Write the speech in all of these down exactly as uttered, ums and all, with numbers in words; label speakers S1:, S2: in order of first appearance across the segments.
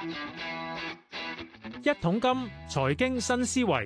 S1: 一桶金財經新思維，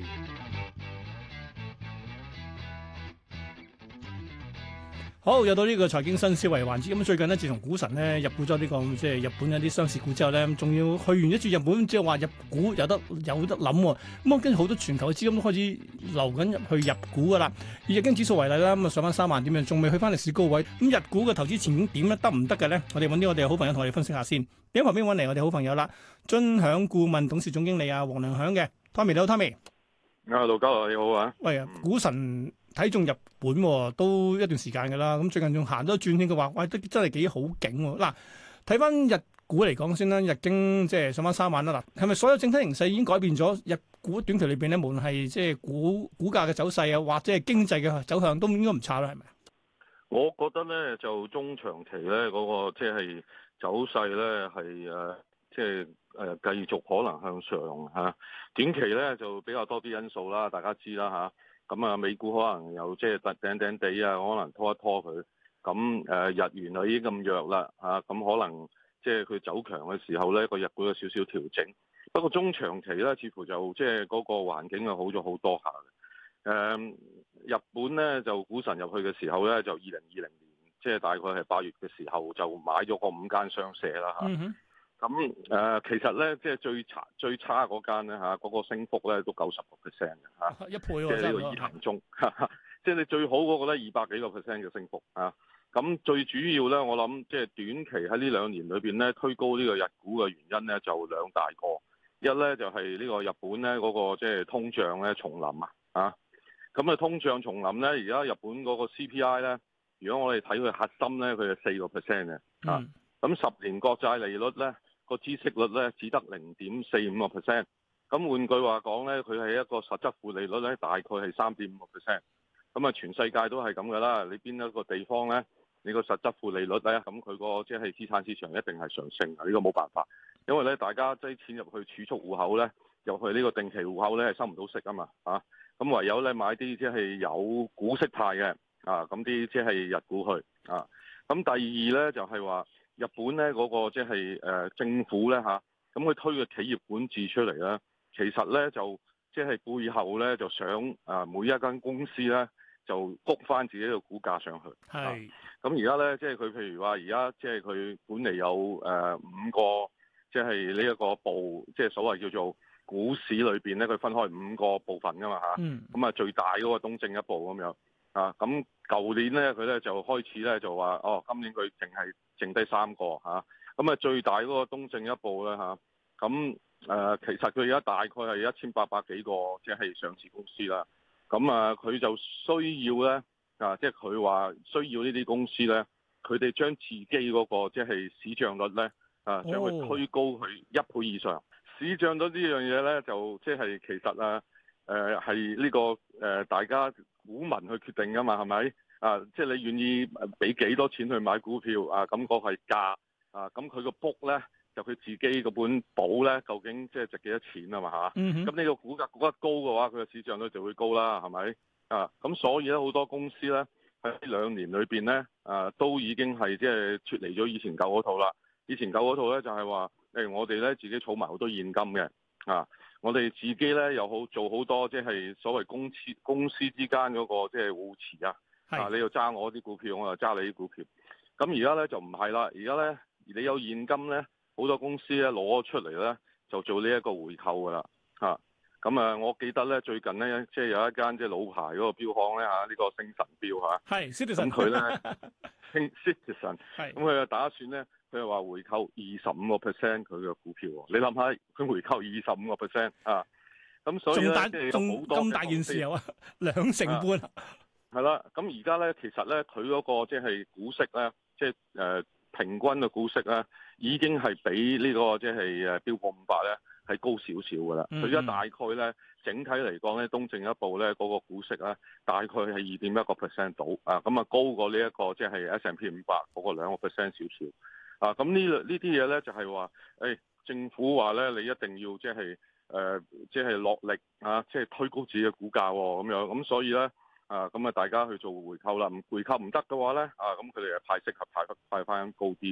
S2: 好，又到呢個財經新思維環節。咁最近呢，自從股神咧入股咗呢個即係日本一啲上市股之後咧，仲要去完一轉日本，即係話入股有得有得諗喎。咁啊，跟住好多全球嘅資金都開始流緊入去入股噶啦。以日經指數為例啦，咁啊上翻三萬點樣，仲未去翻歷史高位。咁日股嘅投資前景點咧，得唔得嘅咧？我哋揾啲我哋好朋友同我哋分析下先。喺旁邊揾嚟我哋好朋友啦，臻享顧問董事總經理啊，黃良響嘅 Tommy，你好 Tommy。
S3: 啊，盧家樂你好啊。
S2: 喂啊，股神睇中日本喎，都一段時間㗎啦。咁最近仲行多轉圈，佢話：喂，都真係幾好景喎。嗱，睇翻日股嚟講先啦，日經即係上翻三萬啦。嗱，係咪所有整體形勢已經改變咗？日股短期裏邊咧，無論係即係股股價嘅走勢啊，或者係經濟嘅走向，都應該唔差啦，係咪？
S3: 我覺得咧，就中長期咧嗰、那個即係走勢咧係誒，即係誒繼續可能向上嚇、啊。短期咧就比較多啲因素啦，大家知啦嚇。咁啊，美股可能又即係突頂頂地啊，可能拖一拖佢。咁誒、呃、日元啊已經咁弱啦嚇，咁、啊、可能即係佢走強嘅時候咧，個日股有少少調整。不過中長期咧，似乎就即係嗰個環境啊好咗好多下嘅。誒、嗯，日本咧就股神入去嘅時候咧，就二零二零年，即係大概係八月嘅時候就買咗個五間商社啦嚇。咁誒、嗯呃，其實咧即係最差最差嗰間咧嚇，嗰、那個升幅咧都九十個 percent 嘅嚇，
S2: 一倍喎，
S3: 即係呢個伊藤忠，即係你最好嗰個咧二百幾個 percent 嘅升幅啊。咁最主要咧，我諗即係短期喺呢兩年裏邊咧推高呢個日股嘅原因咧就兩大個，一咧就係、是、呢個日本咧嗰、那個即係通脹咧重臨啊啊！咁啊，通脹重臨咧，而家日本嗰個 C P I 咧，如果我哋睇佢核心咧，佢係四個 percent 嘅啊。咁十年國債利率咧，個孳息率咧只得零點四五個 percent。咁換句話講咧，佢係一個實質負利率咧，大概係三點五個 percent。咁啊，全世界都係咁噶啦。你邊一個地方咧，你個實質負利率咧，咁佢個即係資產市場一定係上升嘅。呢個冇辦法，因為咧大家擠錢入去儲蓄戶口咧，入去呢個定期戶口咧係收唔到息啊嘛啊。咁唯有咧買啲即係有股息派嘅啊，咁啲即係日股去啊。咁第二咧就係話日本咧嗰個即係誒政府咧嚇，咁佢推嘅企業管治出嚟咧，其實咧就即係背後咧就想啊每一間公司咧就谷翻自己嘅股價上去。係。咁而家咧即係佢譬如話而家即係佢管理有誒五個即係呢一個部，即係所謂叫做股市裏邊咧，佢分開五個部分噶嘛嚇，咁啊最大嗰個東證一部咁樣啊，咁舊年咧佢咧就開始咧就話哦，今年佢淨係剩低三個嚇，咁啊最大嗰個東證一部咧嚇，咁誒其實佢而家大概係一千八百幾個即係上市公司啦，咁啊佢就需要咧啊，即係佢話需要呢啲公司咧，佢哋將自己嗰個即係市賬率咧啊，將佢推高去一倍以上。市漲咗呢樣嘢咧，就即係其實啊，誒係呢個誒、呃、大家股民去決定噶嘛，係咪啊？即係你願意俾幾多錢去買股票啊？咁嗰個係價啊，咁佢個 book 咧就佢自己個本簿咧，究竟即係值幾多錢啊嘛嚇？咁、嗯、呢個股價估得高嘅話，佢嘅市漲率就會高啦，係咪啊？咁所以咧好多公司咧喺呢兩年裏邊咧啊，都已經係即係脫離咗以前舊嗰套啦。以前舊嗰套咧就係話。誒，我哋咧自己儲埋好多現金嘅，啊，我哋自己咧又好做好多即係所謂公司公司之間嗰個即係互持啊，啊，你又揸我啲股票，我又揸你啲股票，咁而家咧就唔係啦，而家咧你有現金咧，好多公司咧攞咗出嚟咧就做呢一個回購噶啦，嚇，咁啊，我記得咧最近咧即係有一間即係老牌嗰個標行咧嚇，呢、這個星辰標嚇，係 Citizen，咁佢咧興 Citizen，咁佢就打算咧。佢係話回購二十五個 percent 佢嘅股票喎，你諗下佢回購二十五個 percent 啊，咁所以咧即係有好多咁大件事有啊，兩成半係啦。咁而家咧其實咧佢嗰個即係股息咧，即係誒平均嘅股息咧，已經係比呢個即係誒標普五百咧係高少少㗎啦。佢而家大概咧整體嚟講咧，東證一部咧嗰個股息咧大概係二點一個 percent 到啊，咁啊高過呢一個即係 S and P 五百嗰個兩個 percent 少少。啊，咁呢呢啲嘢咧就係話，誒政府話咧你一定要即係誒即係落力啊，即係推高自己嘅股價喎，咁樣咁所以咧啊咁啊大家去做回購啦，唔回購唔得嘅話咧啊咁佢哋係派息合派派翻高啲，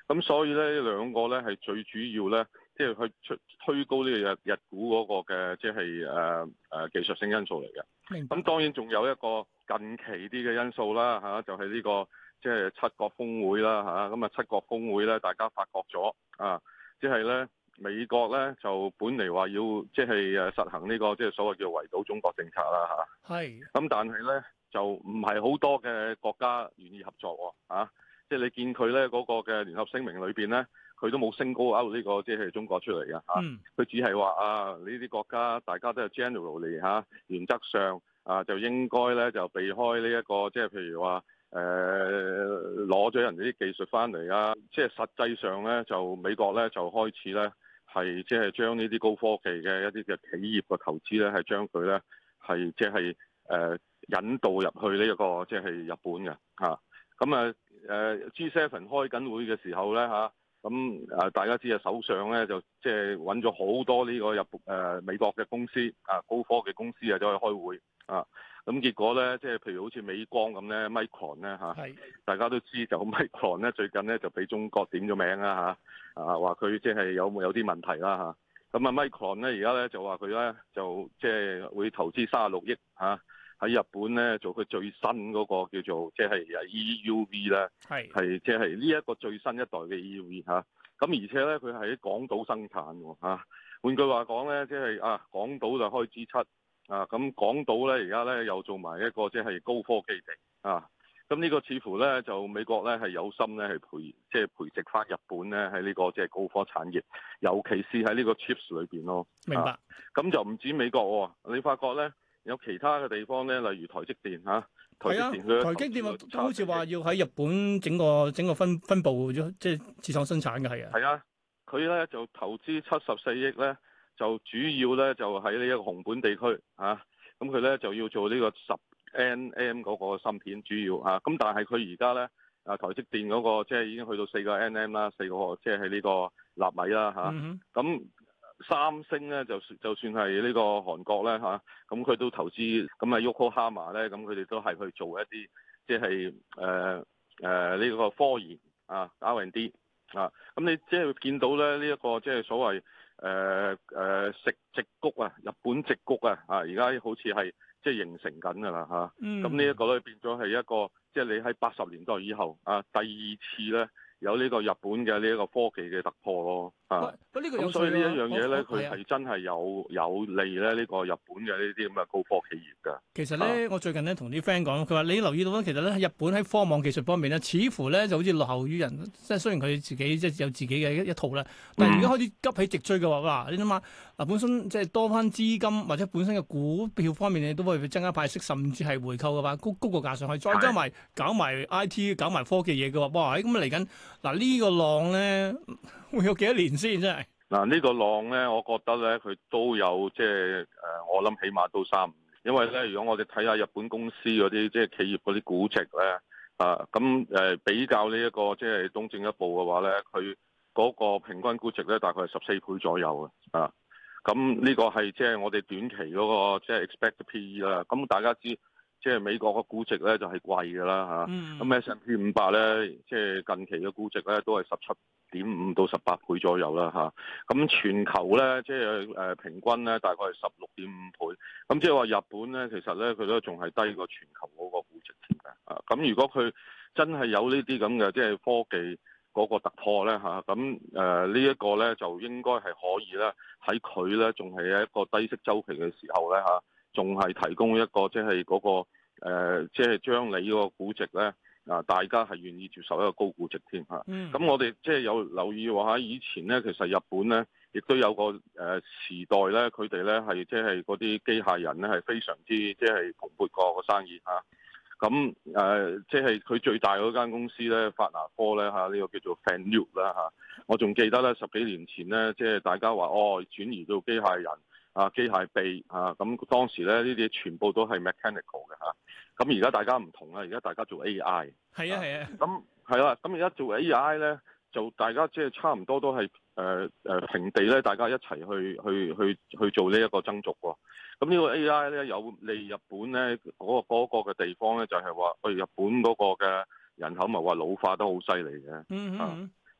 S3: 咁所以咧兩個咧係最主要咧，即係去推推高呢個日日股嗰個嘅即係誒誒技術性因素嚟嘅。
S2: 明白。
S3: 咁當然仲有一個近期啲嘅因素啦嚇，就係呢個即係七國峰會啦嚇。咁啊七國峰會咧，大家發覺咗啊，即係咧美國咧就本嚟話要即係誒實行呢個即係所謂叫圍堵中國政策啦嚇。
S2: 係。
S3: 咁但係咧就唔係好多嘅國家願意合作喎嚇。即係你見佢咧嗰個嘅聯合聲明裏邊咧，佢都冇升高勾呢個即係中國出嚟嘅嚇，佢、嗯、只係話啊呢啲國家大家都係 generally 嚇，原則上啊就應該咧就避開呢、這、一個即係譬如話誒攞咗人哋啲技術翻嚟啊，即係實際上咧就美國咧就開始咧係即係將呢啲高科技嘅一啲嘅企業嘅投資咧係將佢咧係即係誒引導入去呢、這、一個即係、就是、日本嘅嚇，咁啊。誒 G 七 開緊會嘅時候咧嚇，咁誒大家知啊，首相咧就即係揾咗好多呢個日誒美國嘅公司啊，高科技公司啊走去開會啊，咁結果咧即係譬如好似美光咁咧，Micron 咧嚇，大家都知就 Micron 咧最近咧就俾中國點咗名啦嚇，啊話佢即係有冇有啲問題啦嚇，咁啊 Micron 咧而家咧就話佢咧就即係會投資三十六億嚇。喺日本咧做佢最新嗰個叫做即係 E U V 咧，係係即係呢一個最新一代嘅 E U V 嚇。咁而且咧佢係喺港島生產喎嚇。換句話講咧，即係啊港島就開 G 七啊，咁港島咧而家咧又做埋一個即係高科技地啊。咁呢個似乎咧就美國咧係有心咧係培即係培植翻日本咧喺呢個即係高科產業，尤其是喺呢個 chips 裏邊咯。
S2: 明白。咁、
S3: 啊、就唔止美國喎，你發覺咧？有其他嘅地方咧，例如台積電嚇，台積電佢、啊、台積電
S2: 都好似話要喺日本整個整個分分佈咗，即係自創生產嘅係啊。係
S3: 啊，佢咧就投資七十四億咧，就主要咧就喺呢一個熊本地區嚇，咁佢咧就要做呢個十 N M 嗰個芯片主要嚇，咁、啊、但係佢而家咧啊台積電嗰、那個即係、就是、已經去到四個 N M 啦，四個即係喺呢個納米啦嚇，咁、啊。嗯三星咧就就算係呢個韓國咧嚇，咁佢都投資，咁啊 Yokohama 咧，咁佢哋都係去做一啲即係誒誒呢個科研啊 R and D 啊，咁你即係見到咧呢一個即係所謂誒誒矽矽谷啊，日本矽谷啊，啊而家好似係即係形成緊㗎啦嚇，咁呢一個咧變咗係一個即係你喺八十年代以後啊第二次咧。有呢個日本嘅呢一個科技嘅突破咯，啊，咁所以呢一樣嘢咧，佢係真係有有利咧呢個日本嘅呢啲咁嘅高科企業㗎。
S2: 其實咧，啊、我最近咧同啲 friend 講，佢話你留意到咧，其實咧喺日本喺科網技術方面咧，似乎咧就好似落後於人。即係雖然佢自己即係有自己嘅一一套啦，但係而家開始急起直追嘅話，哇！你諗下嗱，本身即係多翻資金或者本身嘅股票方面，你都會增加派息，甚至係回購嘅話，高高個價上去，再加埋搞埋 I T、搞埋科技嘢嘅話，哇！咁嚟緊。嗱呢個浪咧會有幾多年先？真係
S3: 嗱呢個浪咧，我覺得咧佢都有即係誒，我諗起碼都三五年，因為咧如果我哋睇下日本公司嗰啲即係企業嗰啲估值咧啊，咁誒比較呢一個即係東證一部嘅話咧，佢嗰個平均估值咧大概係十四倍左右嘅啊，咁呢個係即係我哋短期嗰個即係 expect P E 啦，咁大家知。即係美國個估值咧就係貴㗎啦嚇，咁 S and P 五百咧，即係近期嘅估值咧都係十七點五到十八倍左右啦嚇。咁全球咧即係誒平均咧大概係十六點五倍。咁即係話日本咧其實咧佢都仲係低過全球嗰個估值添嘅。啊，咁如果佢真係有呢啲咁嘅即係科技嗰個突破咧嚇，咁誒呢一個咧就應該係可以咧喺佢咧仲係一個低息週期嘅時候咧嚇。仲係提供一個即係嗰個誒，即係將你嗰個估值咧啊，大家係願意接受一個高估值添嚇。咁、嗯、我哋即係有留意話，以前咧其實日本咧亦都有個誒時代咧，佢哋咧係即係嗰啲機械人咧係非常之即係蓬勃過個生意嚇。咁誒即係佢最大嗰間公司咧，法拿科咧嚇，呢、這個叫做 Fanuc 啦嚇。我仲記得咧十幾年前咧，即係大家話哦轉移到機械人。啊，機械臂啊，咁當時咧呢啲全部都係 mechanical 嘅嚇，咁而家大家唔同啦，而家大家做 A I，
S2: 係啊係啊，
S3: 咁係啦，咁而家做 A I 咧，就大家即係差唔多都係誒誒平地咧，大家一齊去去去去做呢一個增續喎。咁呢個 A I 咧有利日本咧嗰、嗰個嘅、嗰個、地方咧，就係話，喂日本嗰個嘅人口咪話老化得好犀利嘅，
S2: 嗯嗯。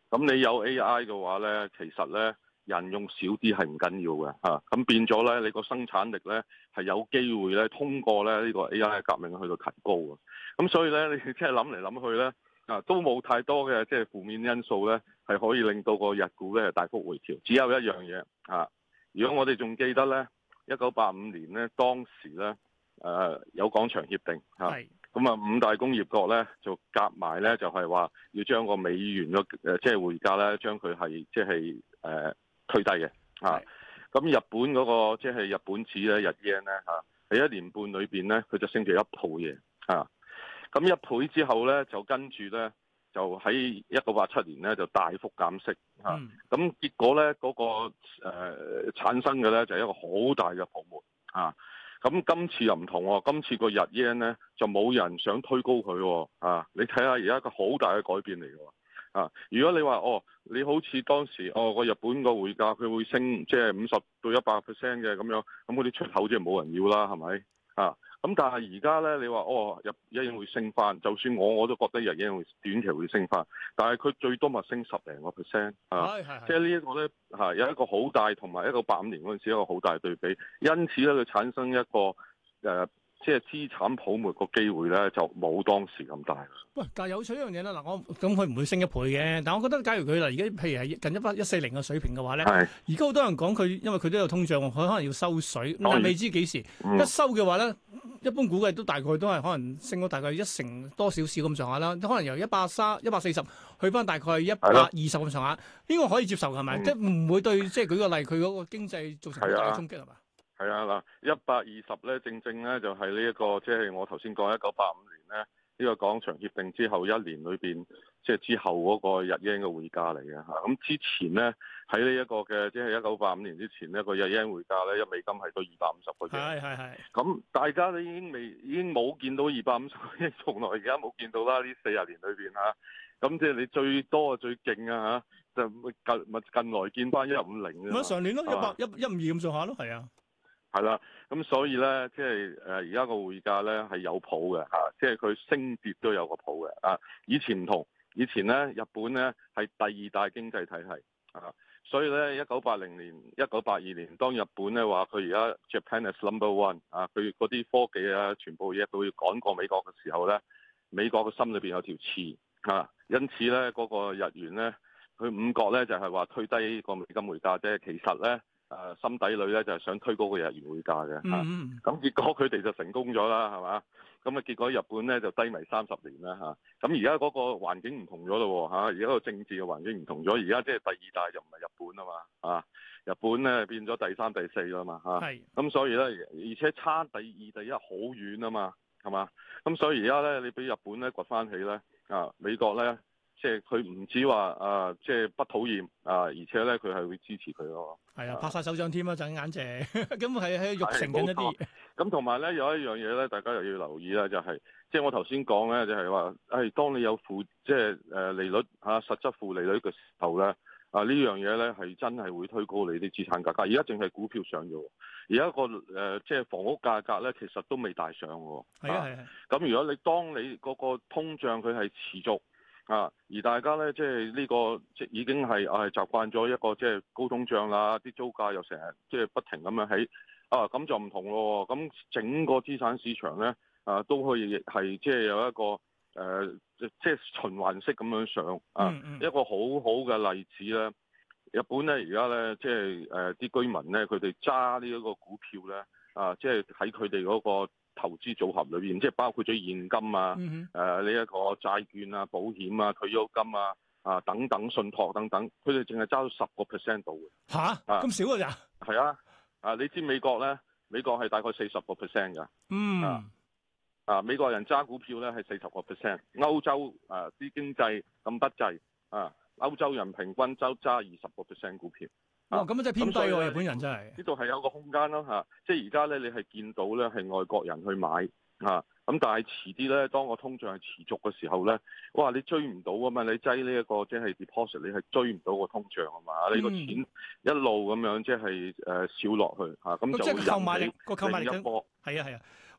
S3: 咁你有 A I 嘅話咧，其實咧人用少啲係唔緊要嘅嚇。咁、啊、變咗咧，你個生產力咧係有機會咧通過咧呢個 A I 革命去到提高嘅。咁所以咧，你即係諗嚟諗去咧啊，都冇太多嘅即係負面因素咧，係可以令到個日股咧大幅回調。只有一樣嘢啊，如果我哋仲記得咧，一九八五年咧當時咧誒、呃、有廣場協定嚇。是咁啊，五大工業國咧就夾埋咧，就係話要將個美元嘅誒即係匯價咧，將佢係即係誒推低嘅嚇。咁日本嗰個即係日本紙咧，日 yen 咧嚇，喺一年半裏邊咧，佢就升咗一倍嘢嚇。咁一倍之後咧，就跟住咧，就喺一九八七年咧就大幅減息嚇。咁、嗯、結果咧嗰、那個誒、呃、產生嘅咧就係一個好大嘅泡沫啊。咁今次又唔同喎，今次個日 yen 咧就冇人想推高佢喎，啊！你睇下而家一個好大嘅改變嚟嘅喎，啊！如果你話哦，你好似當時哦個日本個匯價佢會升，即係五十到一百 percent 嘅咁樣，咁嗰啲出口即係冇人要啦，係咪？啊！咁但係而家咧，你話哦日日元會升翻，就算我我都覺得日元會短期會升翻，但係佢最多咪升十零個 percent 啊！即係呢一個咧嚇有一個好大同埋一個八五年嗰陣時一個好大對比，因此咧佢產生一個誒。呃即係資產泡沫個機會咧，就冇當時咁大。
S2: 喂，但係有趣一樣嘢啦，嗱，我咁佢唔會升一倍嘅，但係我覺得假如佢嗱而家譬如係近一百一四零嘅水平嘅話咧，而家好多人講佢，因為佢都有通脹，佢可能要收水，但係未知幾時、嗯、一收嘅話咧，一般估計都大概都係可能升咗大概一成多少少咁上下啦，可能由一百三、一百四十去翻大概一百二十咁上下，呢、呢個可以接受係咪？嗯、即係唔會對即係舉個例，佢嗰個經濟造成好大嘅衝擊係嘛？
S3: 係啊，嗱，一百二十咧，正正咧就係呢一個，即係我頭先講一九八五年咧，呢個廣場協定之後一年裏邊，即係之後嗰個日元嘅匯價嚟嘅嚇。咁之前咧喺呢一個嘅，即係一九八五年之前呢個日元匯價咧，一美金係到二百五十個億。係係係。咁大家都已經未，已經冇見到二百五十個億，從來而家冇見到啦。呢四十年裏邊嚇，咁即係你最多啊最勁啊嚇，就近咪近來見翻一五零嘅。咪上年咯，一百一一五二咁上下咯，係啊。係啦，咁所以咧，即係誒而家個匯價咧係有譜嘅嚇，即係佢升跌都有個譜嘅啊。以前唔同，以前咧日本咧係第二大經濟體系啊，所以咧一九八零年、一九八二年，當日本咧話佢而家 Japan is number one 啊，佢嗰啲科技啊，全部嘢都要趕過美國嘅時候咧，美國嘅心裏邊有條刺啊，因此咧嗰個日元咧，佢五角咧就係話推低個美金匯價啫，其實咧。誒、呃、心底裏咧就係、是、想推高個日元匯價嘅嚇，咁、mm hmm. 啊、結果佢哋就成功咗啦，係嘛？咁啊結果日本咧就低迷三十年啦嚇，咁而家嗰個環境唔同咗咯嚇，而家個政治嘅環境唔同咗，而家即係第二大就唔係日本啊嘛，啊日本咧變咗第三第四啦嘛嚇，咁、啊、是所以咧而且差第二第一好遠啊嘛，係嘛？咁所以而家咧你俾日本咧掘翻起咧啊美國咧。即係佢唔止話啊，即係不討厭啊，而且咧佢係會支持佢咯。係啊，拍晒手掌添啊，陣眼謝，咁係喺育成緊一啲。咁同埋咧有一樣嘢咧，大家又要留意啦，就係、是、即係我頭先講咧，就係話誒，當你有負即係誒利率嚇、啊、實質負利率嘅時候咧，啊呢樣嘢咧係真係會推高你啲資產價格。而家淨係股票上咗，而家個誒、呃、即係房屋價格咧，其實都未大上喎。係啊係啊。咁、啊、如果你當你嗰個通脹佢係持續。啊！而大家咧，即係呢、這個即已經係係、啊、習慣咗一個即係高通脹啦，啲租價又成日即係不停咁樣起啊！咁就唔同咯。咁整個資產市場咧啊，都可以係即係有一個誒、呃，即係循環式咁樣上啊。嗯嗯一個好好嘅例子咧，日本咧而家咧即係誒啲居民咧，佢哋揸呢一個股票咧啊，即係喺佢哋嗰個投資組合裏邊，即係包括咗現金啊，誒呢一個債券啊、保險啊、退休金啊、啊等等信託等等，佢哋淨係揸到十個 percent 度嘅。嚇哈，咁、啊、少㗎咋？係啊，啊你知美國咧，美國係大概四十個 percent 㗎。嗯。啊，啊美國人揸股票咧係四十個 percent，歐洲啊啲經濟咁不濟啊，歐洲人平均周揸二十個 percent 股票。哦，咁啊真係偏低喎！日本人真係呢度係有個空間咯嚇，即係而家咧你係見到咧係外國人去買啊，咁但係遲啲咧當個通脹係持續嘅時候咧，哇你追唔到啊嘛！你擠呢一個即係 deposit，你係追唔到個通脹啊嘛！嗯、你個錢一路咁樣即係誒少落去嚇，咁、啊、就會引起另一波。係啊係啊，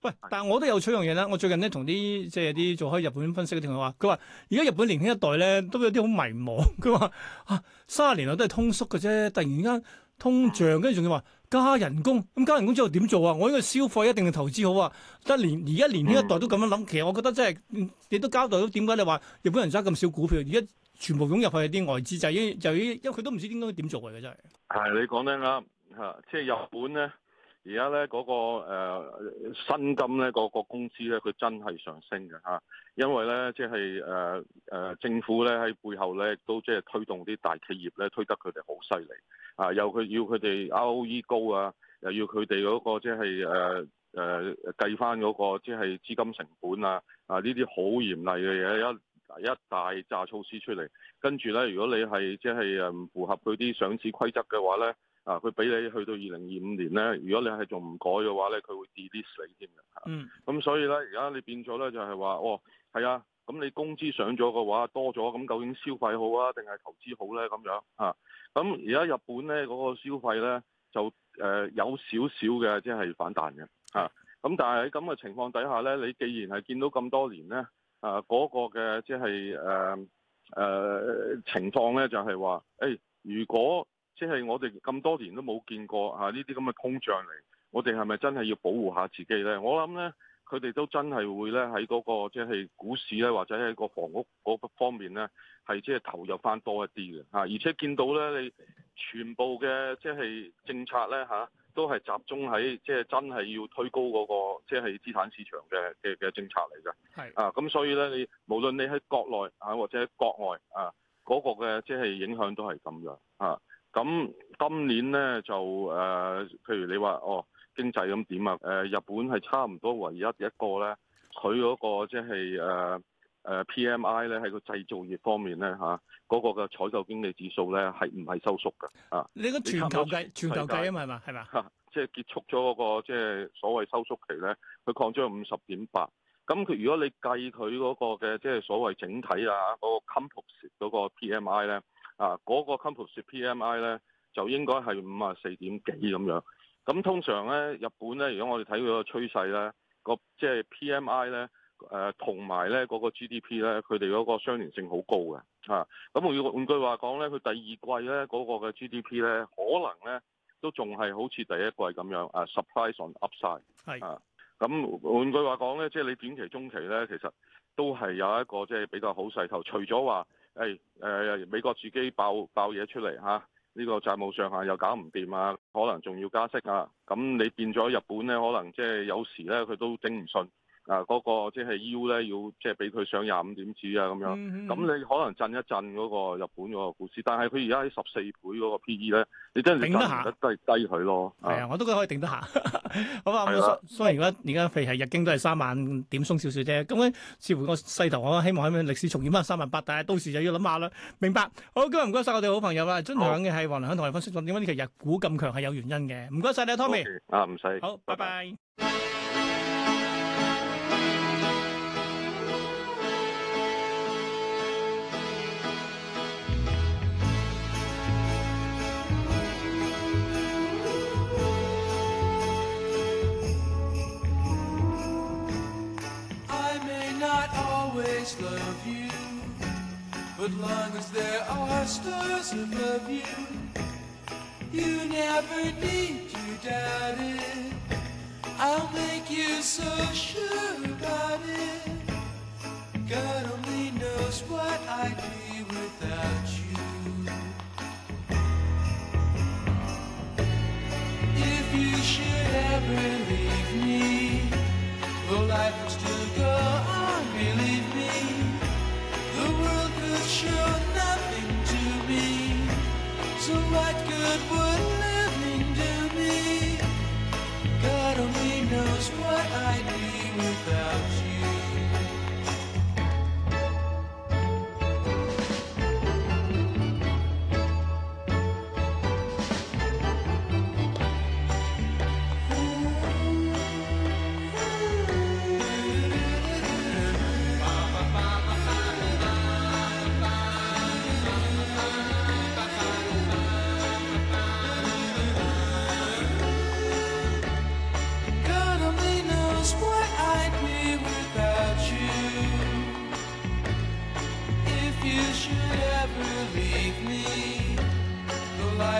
S2: 喂，但係我都有取樣嘢啦。我最近咧同啲即係啲做開日本分析嘅同學話，佢話而家日本年輕一代咧都有啲好迷茫。佢話啊，三十年來都係通縮嘅啫，突然間通脹，跟住仲要話加人工，咁加人工之後點做啊？我呢個消費一定係投資好啊！得年而家年輕一代都咁樣諗，其實我覺得真係你都交代到點解你話日本人揸咁少股票，而家全部湧入去係啲外資，就已經就已經因為佢都唔知應該點做嘅真係。係
S3: 你講得啱嚇，即係日本咧。而家咧嗰個誒薪金咧，嗰個工資咧，佢真係上升嘅嚇，因為咧即係誒誒政府咧喺背後咧都即係推動啲大企業咧推得佢哋好犀利啊！又佢要佢哋 R O E 高啊，又要佢哋嗰個即係誒誒計翻嗰個即係資金成本啊啊呢啲好嚴厲嘅嘢一一大紮措施出嚟，跟住咧如果你係即係誒唔符合佢啲上市規則嘅話咧。啊！佢俾你去到二零二五年咧，如果你係仲唔改嘅話咧，佢會 delete 你添嘅嚇。嗯。咁所以咧，而家你變咗咧就係話，哦，係啊，咁你工資上咗嘅話多咗，咁究竟消費好啊，定係投資好咧？咁樣嚇。咁而家日本咧嗰個消費咧就誒有少少嘅即係反彈嘅嚇。咁但係喺咁嘅情況底下咧，你既然係見到咁多年咧，啊嗰個嘅即係誒誒情況咧，就係話，誒如果即係我哋咁多年都冇見過嚇呢啲咁嘅通脹嚟，我哋係咪真係要保護下自己咧？我諗咧，佢哋都真係會咧喺嗰個即係股市咧，或者喺個房屋嗰方面咧，係即係投入翻多一啲嘅嚇。而且見到咧，你全部嘅即係政策咧嚇，都係集中喺即係真係要推高嗰個即係資產市場嘅嘅嘅政策嚟嘅。係啊，咁所以咧，你無論你喺國內啊或者國外啊，嗰個嘅即係影響都係咁樣啊。咁今年咧就誒、呃，譬如你話哦經濟咁點啊？誒、呃、日本係差唔多唯一一個咧，佢嗰個即係誒誒 P M I 咧喺個製造業方面咧嚇，嗰、啊那個嘅採購經理指數咧係唔係收縮㗎？啊，
S2: 你個全球計全球計啊嘛係嘛係嘛？
S3: 嚇，即係結束咗嗰、那個即係所謂收縮期咧，佢擴張五十點八。咁佢如果你計佢嗰個嘅即係所謂整體啊嗰、那個 composite 嗰個 P M I 咧。啊，嗰、那個 composite P M I 咧就應該係五啊四點幾咁樣。咁通常咧，日本咧，如果我哋睇佢個趨勢咧，個即係 P M I 咧，誒同埋咧嗰個 G D P 咧，佢哋嗰個相連性好高嘅。嚇，咁換換句話講咧，佢第二季咧嗰、那個嘅 G D P 咧，可能咧都仲係好似第一季咁樣啊 ，surprise on upside。係啊，咁換句話講咧，即係你短期、中期咧，其實都係有一個即係比較好勢頭，除咗話。誒誒、哎呃，美國自己爆爆嘢出嚟嚇，呢、啊這個債務上限又搞唔掂啊，可能仲要加息啊，咁你變咗日本咧，可能即係有時咧佢都頂唔順啊，嗰、那個即係 U 咧要即係俾佢上廿五點子啊咁樣，咁、嗯嗯、你可能震一震嗰個日本嗰個股市，但係佢而家喺十四倍嗰個 P E 咧，你真係頂得下，都係低佢咯。係啊，
S2: 我都覺得可以頂得下。好啊，咁雖然而家而家譬如係日經都係三萬點鬆少少啫，咁咧似乎個勢頭，我希望喺歷史重現翻三萬八，但係到時就要諗下啦。明白。好，今日唔該晒我哋好朋友啦，真強嘅係黃良響同我哋分析咗點解呢期日股咁強係有原因嘅。唔該晒你啊 ，Tommy。
S3: 啊，唔使。
S2: 好，拜拜。
S4: Love you, but long as there are stars above you, you never need to doubt it. I'll make you so sure about it. God only knows what I'd be without you. If you should ever leave me, though life would still go on, believe me, the world could show nothing to me. So what good would living do me? God only knows what I'd be without you.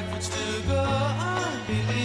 S4: life would still go on, believe